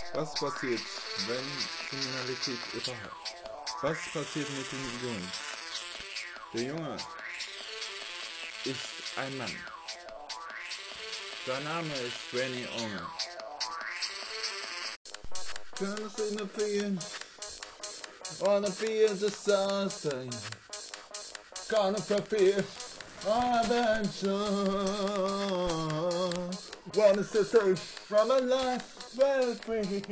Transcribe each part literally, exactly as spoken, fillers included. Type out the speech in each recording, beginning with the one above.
Was passiert, wenn Kriminalität überhaupt? Was passiert mit dem Jungen? Der Junge ist ein Mann. Sein Name ist Benny Unger. Turns in the field, on the field of sunshine, gonna fulfill adventure. Wanna set from a life well free.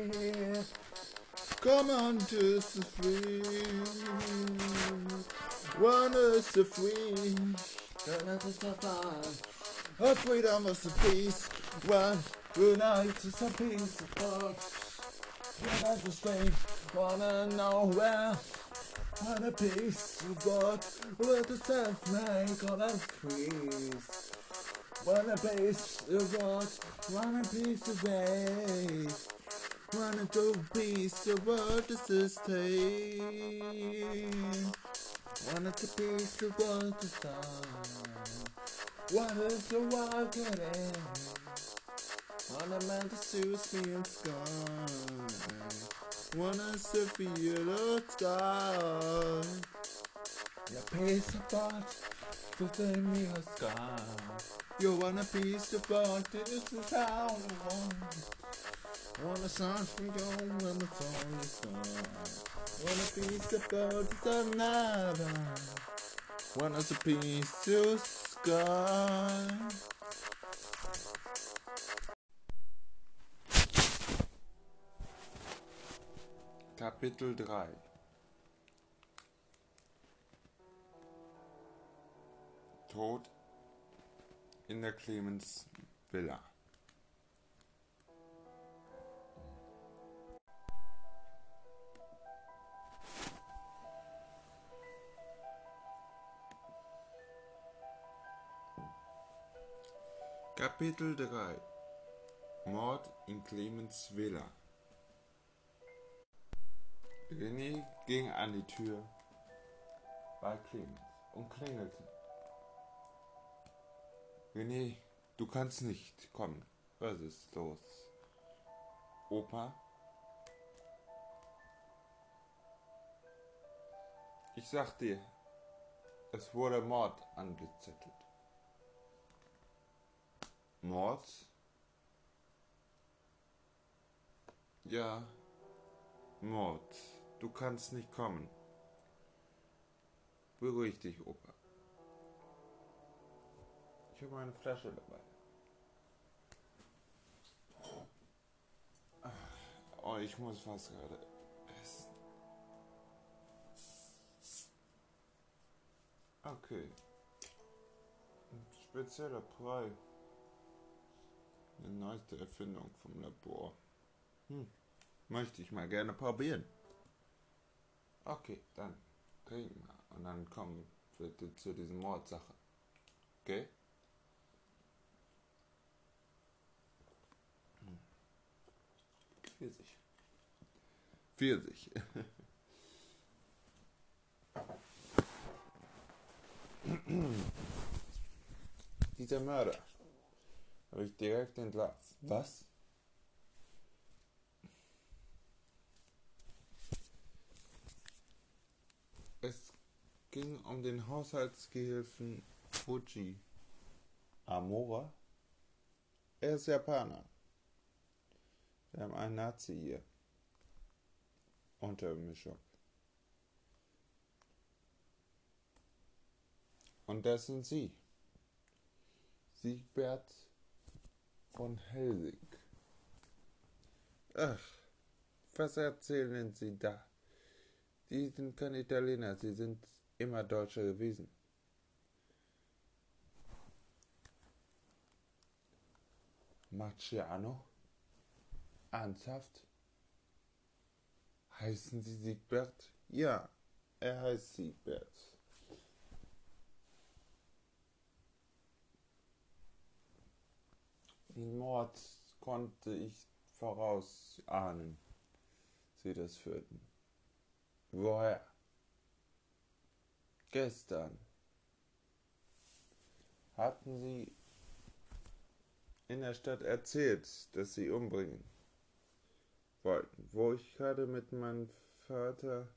Come on to the free. Wanna set free. Gonna set fire. A freedom of the peace. One unite to some peace of thought. Yeah, that's the same. Wanna know where. Wanna peace of God. With the self-make all that peace. Wanna peace of God. Wanna peace of faith. Wanna do peace of what is the state. Wanna to peace of what is done. Wanna to walk it in. Wanna man to soothe me in sky. Wanna sit for you to sky. Yeah, peace of God within me a sky. You want a piece of God, this is how I want. Want a song from you when the song is gone. Want a piece of God, it's another. Want us a piece of sky. Kapitel drei. Tod in der Clemens Villa. Kapitel drei. Mord in Clemens Villa. René ging an die Tür bei Clemens und klingelte. René, du kannst nicht kommen. Was ist los? Opa? Ich sag dir, es wurde Mord angezettelt. Mord? Ja, Mord. Du kannst nicht kommen. Beruhig dich, Opa. Ich habe eine Flasche dabei. Oh, ich muss was gerade essen. Okay. Ein spezieller Brei. Eine neueste Erfindung vom Labor. Hm. Möchte ich mal gerne probieren. Okay, dann trinken wir. Und dann kommen wir zu dieser Mordsache. Okay? Hm. Pfirsich. Pfirsich. Dieser Mörder habe ich direkt entlarvt. Was? Es ging um den Haushaltsgehilfen Fuji Amora. Er ist Japaner. Wir haben einen Nazi hier. Untermischung. Und das sind Sie. Siegbert von Helsing. Ach, was erzählen Sie da? Die sind kein Italiener, sie sind immer Deutsche gewesen. Marciano? Ernsthaft? Heißen Sie Siegbert? Ja, er heißt Siegbert. Den Mord konnte ich vorausahnen, Sie das führten. Woher? Gestern. Hatten Sie in der Stadt erzählt, dass Sie umbringen? wollten, wo ich gerade mit meinem Vater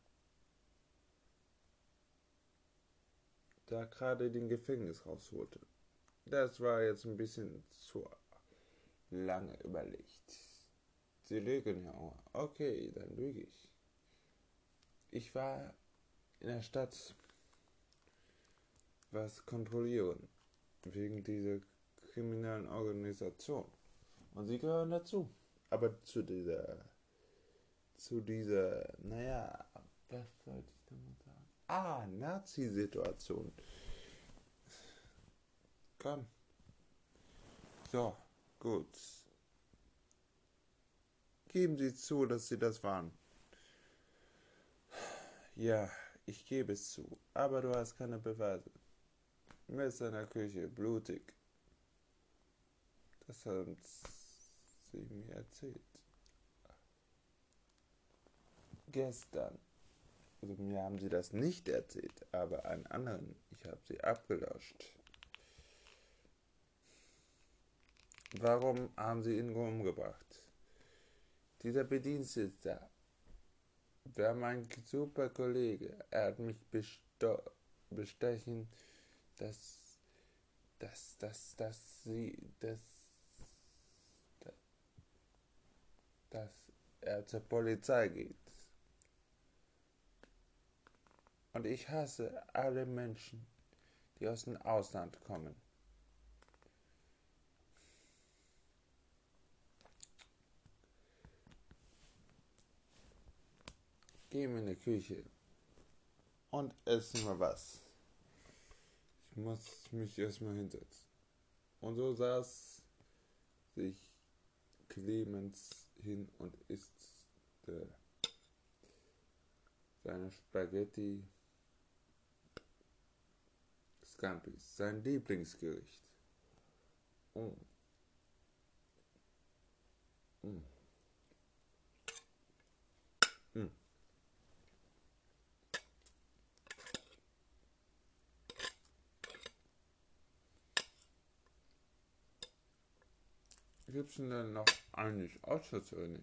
da gerade den Gefängnis rausholte. Das war jetzt ein bisschen zu lange überlegt. Sie lügen ja auch. Okay, dann lüge ich. Ich war in der Stadt was kontrollieren, wegen dieser kriminellen Organisation. Und sie gehören dazu. Aber zu dieser, zu dieser, naja, was sollte ich denn mal sagen? Ah, Nazi-Situation. Komm. So, gut. Geben Sie zu, dass Sie das waren. Ja, ich gebe es zu. Aber du hast keine Beweise. Messer in der Küche, blutig. Das haben sie mir erzählt. Gestern. Also mir haben sie das nicht erzählt, aber einen anderen. Ich habe sie abgelöscht. Warum haben sie ihn umgebracht? Dieser Bedienstete war mein super Kollege. Er hat mich besto- bestechen, dass, dass, dass, dass sie, dass, dass er zur Polizei geht. Und ich hasse alle Menschen, die aus dem Ausland kommen. Gehen wir in die Küche und essen wir was. Ich muss mich erstmal hinsetzen. Und so saß sich Clemens hin und isst äh, seine Spaghetti Scampis, sein Lieblingsgericht. Mm. Mm. Mm. Gibt's denn dann noch eigentlich außer René?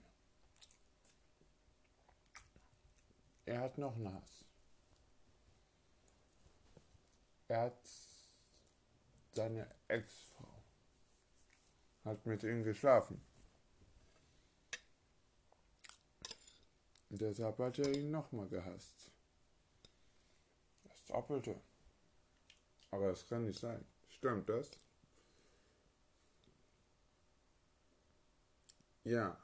Er hat noch ein Hass. Er hat seine Ex-Frau, hat mit ihm geschlafen. Und deshalb hat er ihn nochmal gehasst. Das Doppelte. Aber das kann nicht sein. Stimmt das? Ja.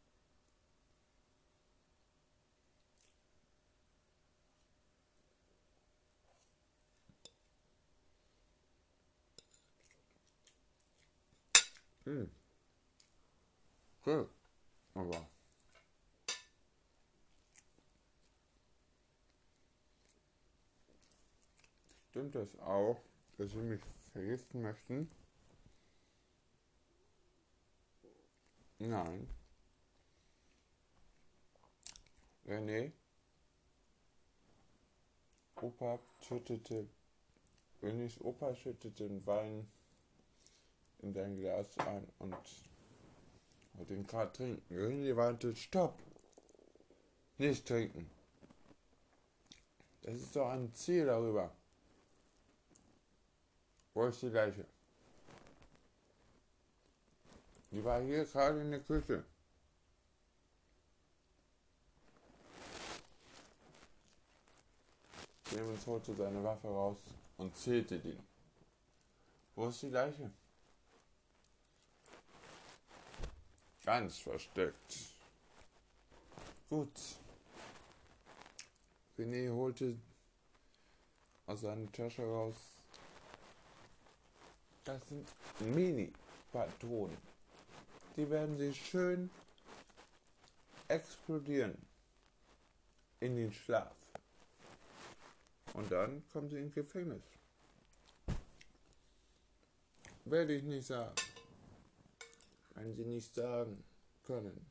Hm. Okay. Aber stimmt das auch, dass Sie mich vergiften möchten? Nein. René, Opa schüttete, Renés Opa schüttete den Wein in sein Glas ein und wollte ihn gerade trinken. René warnte, stopp! Nicht trinken. Das ist doch ein Ziel darüber. Wo ist die Leiche? Die war hier gerade in der Küche. Clemens holte seine Waffe raus und zählte den. Wo ist die Leiche? Ganz versteckt. Gut. René holte aus seiner Tasche raus. Das sind Mini-Patronen. Die werden sie schön explodieren in den Schlaf. Und dann kommen sie ins Gefängnis. Werde ich nicht sagen. Wenn sie nicht sagen können,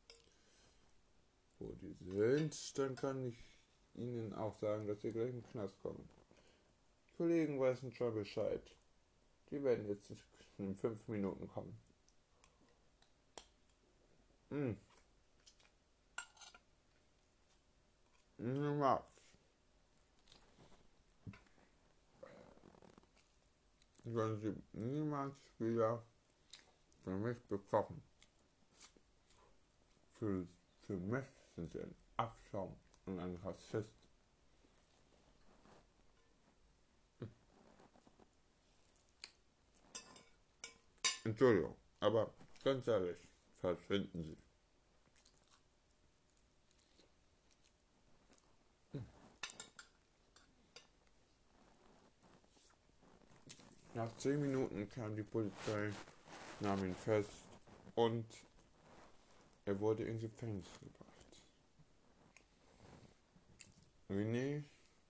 wo die sind, dann kann ich ihnen auch sagen, dass sie gleich in den Knast kommen. Die Kollegen wissen schon Bescheid. Die werden jetzt in fünf Minuten kommen. Mm. sollen sie niemals wieder für mich bekochen. Für, für mich sind sie ein Abschaum und ein Rassist. Entschuldigung, aber ganz ehrlich, verschwinden Sie. Nach zehn Minuten kam die Polizei, nahm ihn fest und er wurde ins Gefängnis gebracht. René,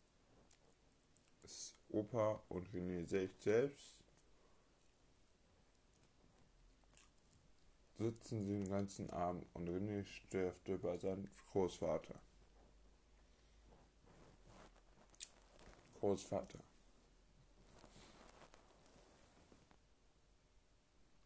Opa und René sich selbst sitzen sie den ganzen Abend und René stirbt über seinen Großvater. Großvater.